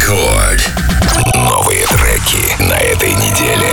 Рекорд. Новые треки на этой неделе.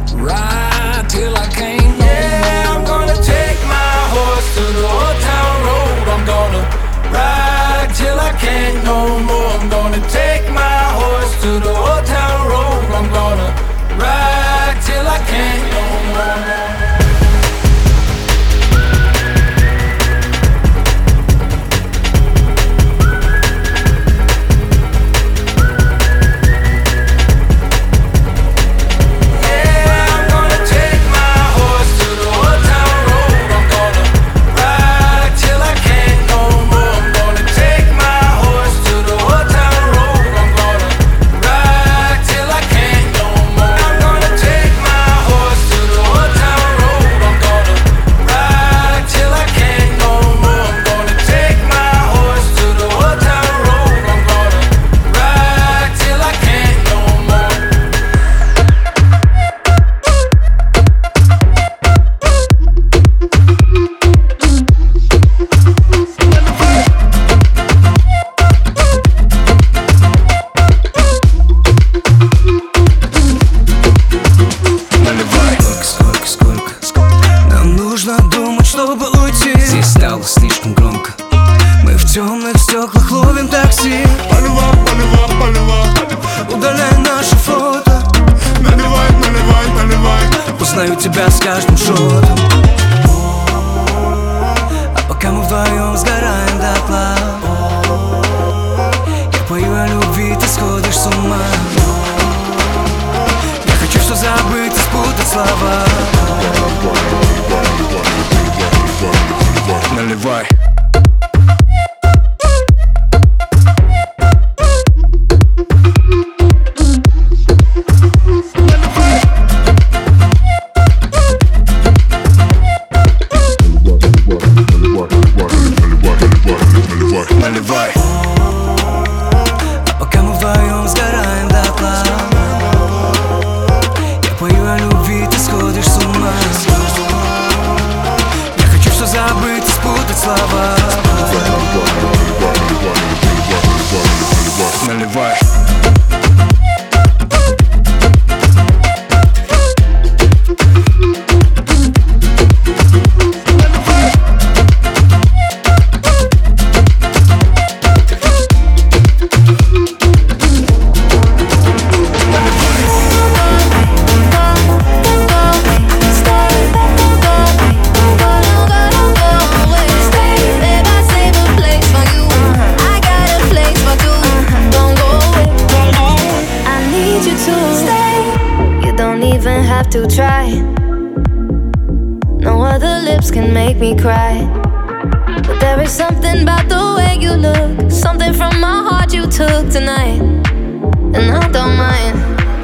Till I can't. Yeah, I'm gonna take my horse to the old town road. путь, чтобы уйти. Здесь стало слишком громко. Мы в темных стеклах ловим такси. Поливай, поливай, поливай. Удаляй наши фото. Наливай, наливай, наливай. Узнаю тебя с каждым шотом. А пока мы вдвоем сгораем дотла, я пою о любви, ты сходишь с ума. Я хочу все забыть и спутать слова. Наливай. Наливай. А пока мы вдвоем сгораем дотла, я пою о любви, ты сходишь с ума. Я хочу все забыть и спутать слова. Наливай. Have to try. No other lips can make me cry. But there is something about the way you look, something from my heart you took tonight, and I don't mind.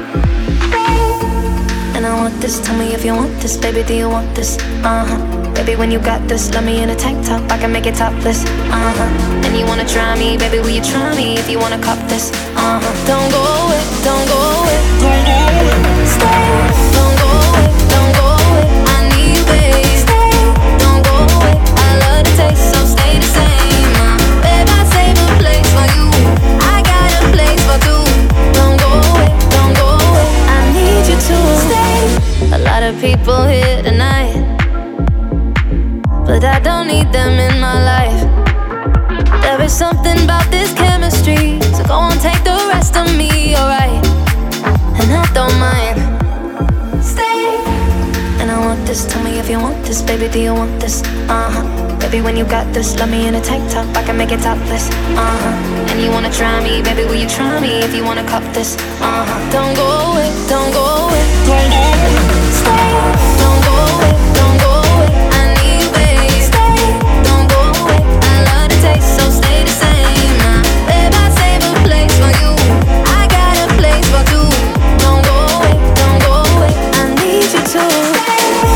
And I want this, tell me if you want this, baby, do you want this? Baby, when you got this, let me in a tank top, I can make it topless. And you wanna try me, baby, will you try me if you wanna cop this? Don't go away, don't go away, don't go away. Stay, don't go away, don't go away. I need you, babe. Stay, don't go away. I love the taste, so stay the same. Babe, I save a place for you. I got a place for two. Don't go away, don't go away. I need you to stay. A lot of people here tonight, but I don't need them in my life. There is something about this chemistry, so go on, take the rest of me, alright? And I don't mind. Stay. And I want this, tell me if you want this, baby, do you want this? Baby, when you got this, let me in a tank top, I can make it topless. And you wanna try me, baby, will you try me if you wanna cop this? Don't go away, don't go away, don't go away. Stay, don't go away, don't go away. I need you, babe. Stay, don't go away. I love the taste, so stay the same. Babe, I save a place for you. I got a place for two. Don't go away, don't go away. I need you to stay.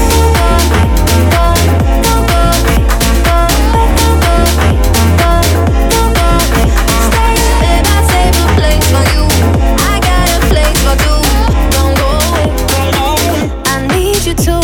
Babe, I save a place for you. I got a place for two. Don't go away, don't go away. I need you to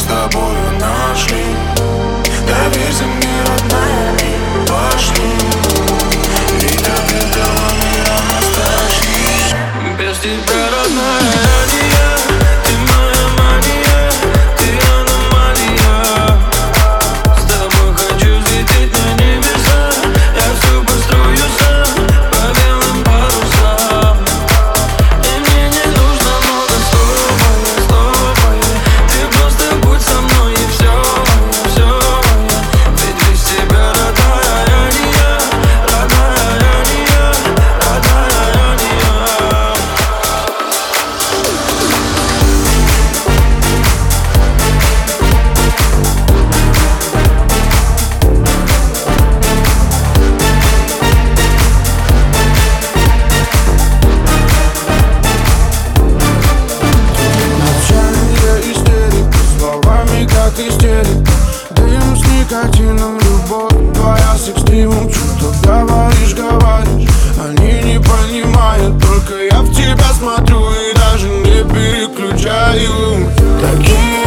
с тобою нашли. Доверься мне, родная, и пошли. Ведь без этого мира настоящий. Без тебя, родная, не я. Ты моя мания, ты аномалия. С тобой хочу взлететь на небеса. Я все построю сам по белым парусам. И мне не нужно много слова. Ты просто будь со мной и все. Ведь без тебя, родная, я не я. Родная, я не я. Родная, я не я. Молчание истерик, словами как истерик. Дым с никотином, любовь твоя с экстримом. Что говоришь, они не понимают. Только я в тебя смотрю и даже не переключаю. Такие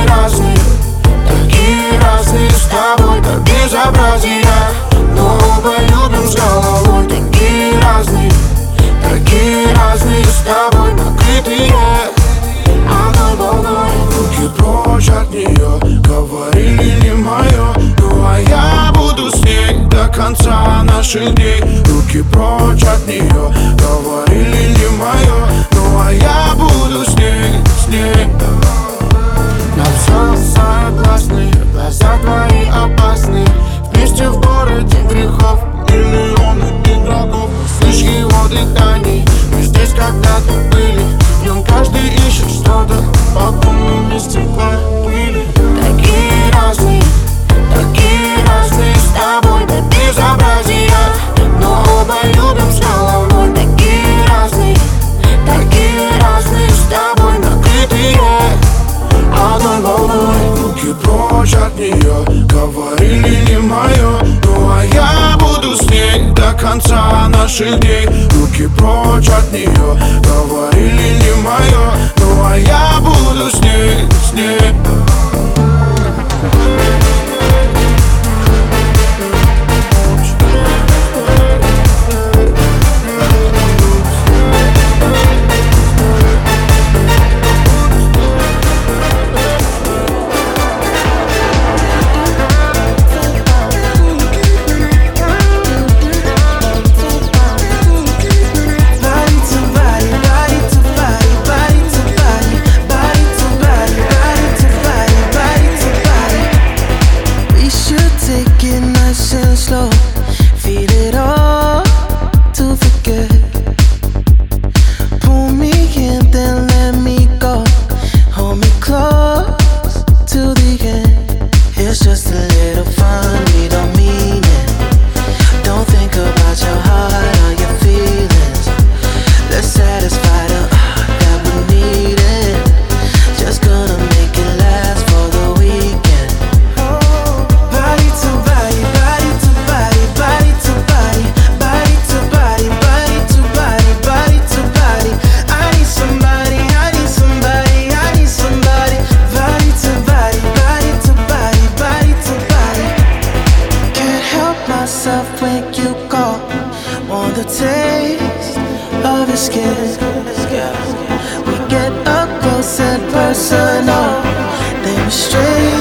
разные с тобой, как безобразие. Но оба любим с головой. Такие разные с тобой, накрытые одной волной. Руки прочь от нее, говорили не мое. Ну а я буду с ней до конца наших дней. Руки прочь от нее, говорили не мое. Ну а я буду с ней. На все согласны, глаза твои опасны. Вместе в городе грехов, миллионы игроков. Слышь его дыхание, мы здесь когда-то были. В нем каждый ищет что-то, по полному стекла пыли. Такие разные с тобой, до безобразия. Но оба любим с головой. Такие разные с тобой, накрытые одной волной. Руки прочь от нее, говорили не мое. Ну а я буду с ней до конца наших дней. Руки прочь от нее, говорили не мое. Ну а я буду с ней. Slow, feel it all to forget. Pull me in, then let me go. Hold me close to the end. It's just a little fun, we don't mean it. Don't think about your heart or your feelings. Let's satisfy the that we need it. Just gonna make it last for the weekend. Body to body, body to body, body to body, body to body, body to body, body to body. I need somebody, I need somebody, I need somebody. Body to body, body to body, body to body. Can't help myself when you call. Want the taste of your skin. We get up close and personal, then we're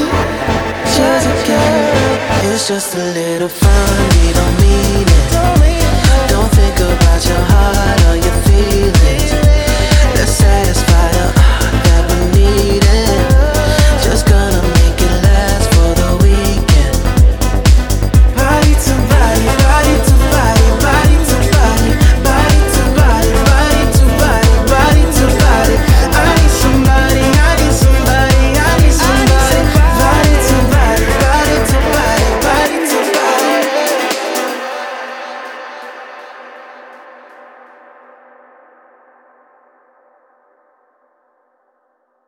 strangers again. It's just a little fun, we don't mean it.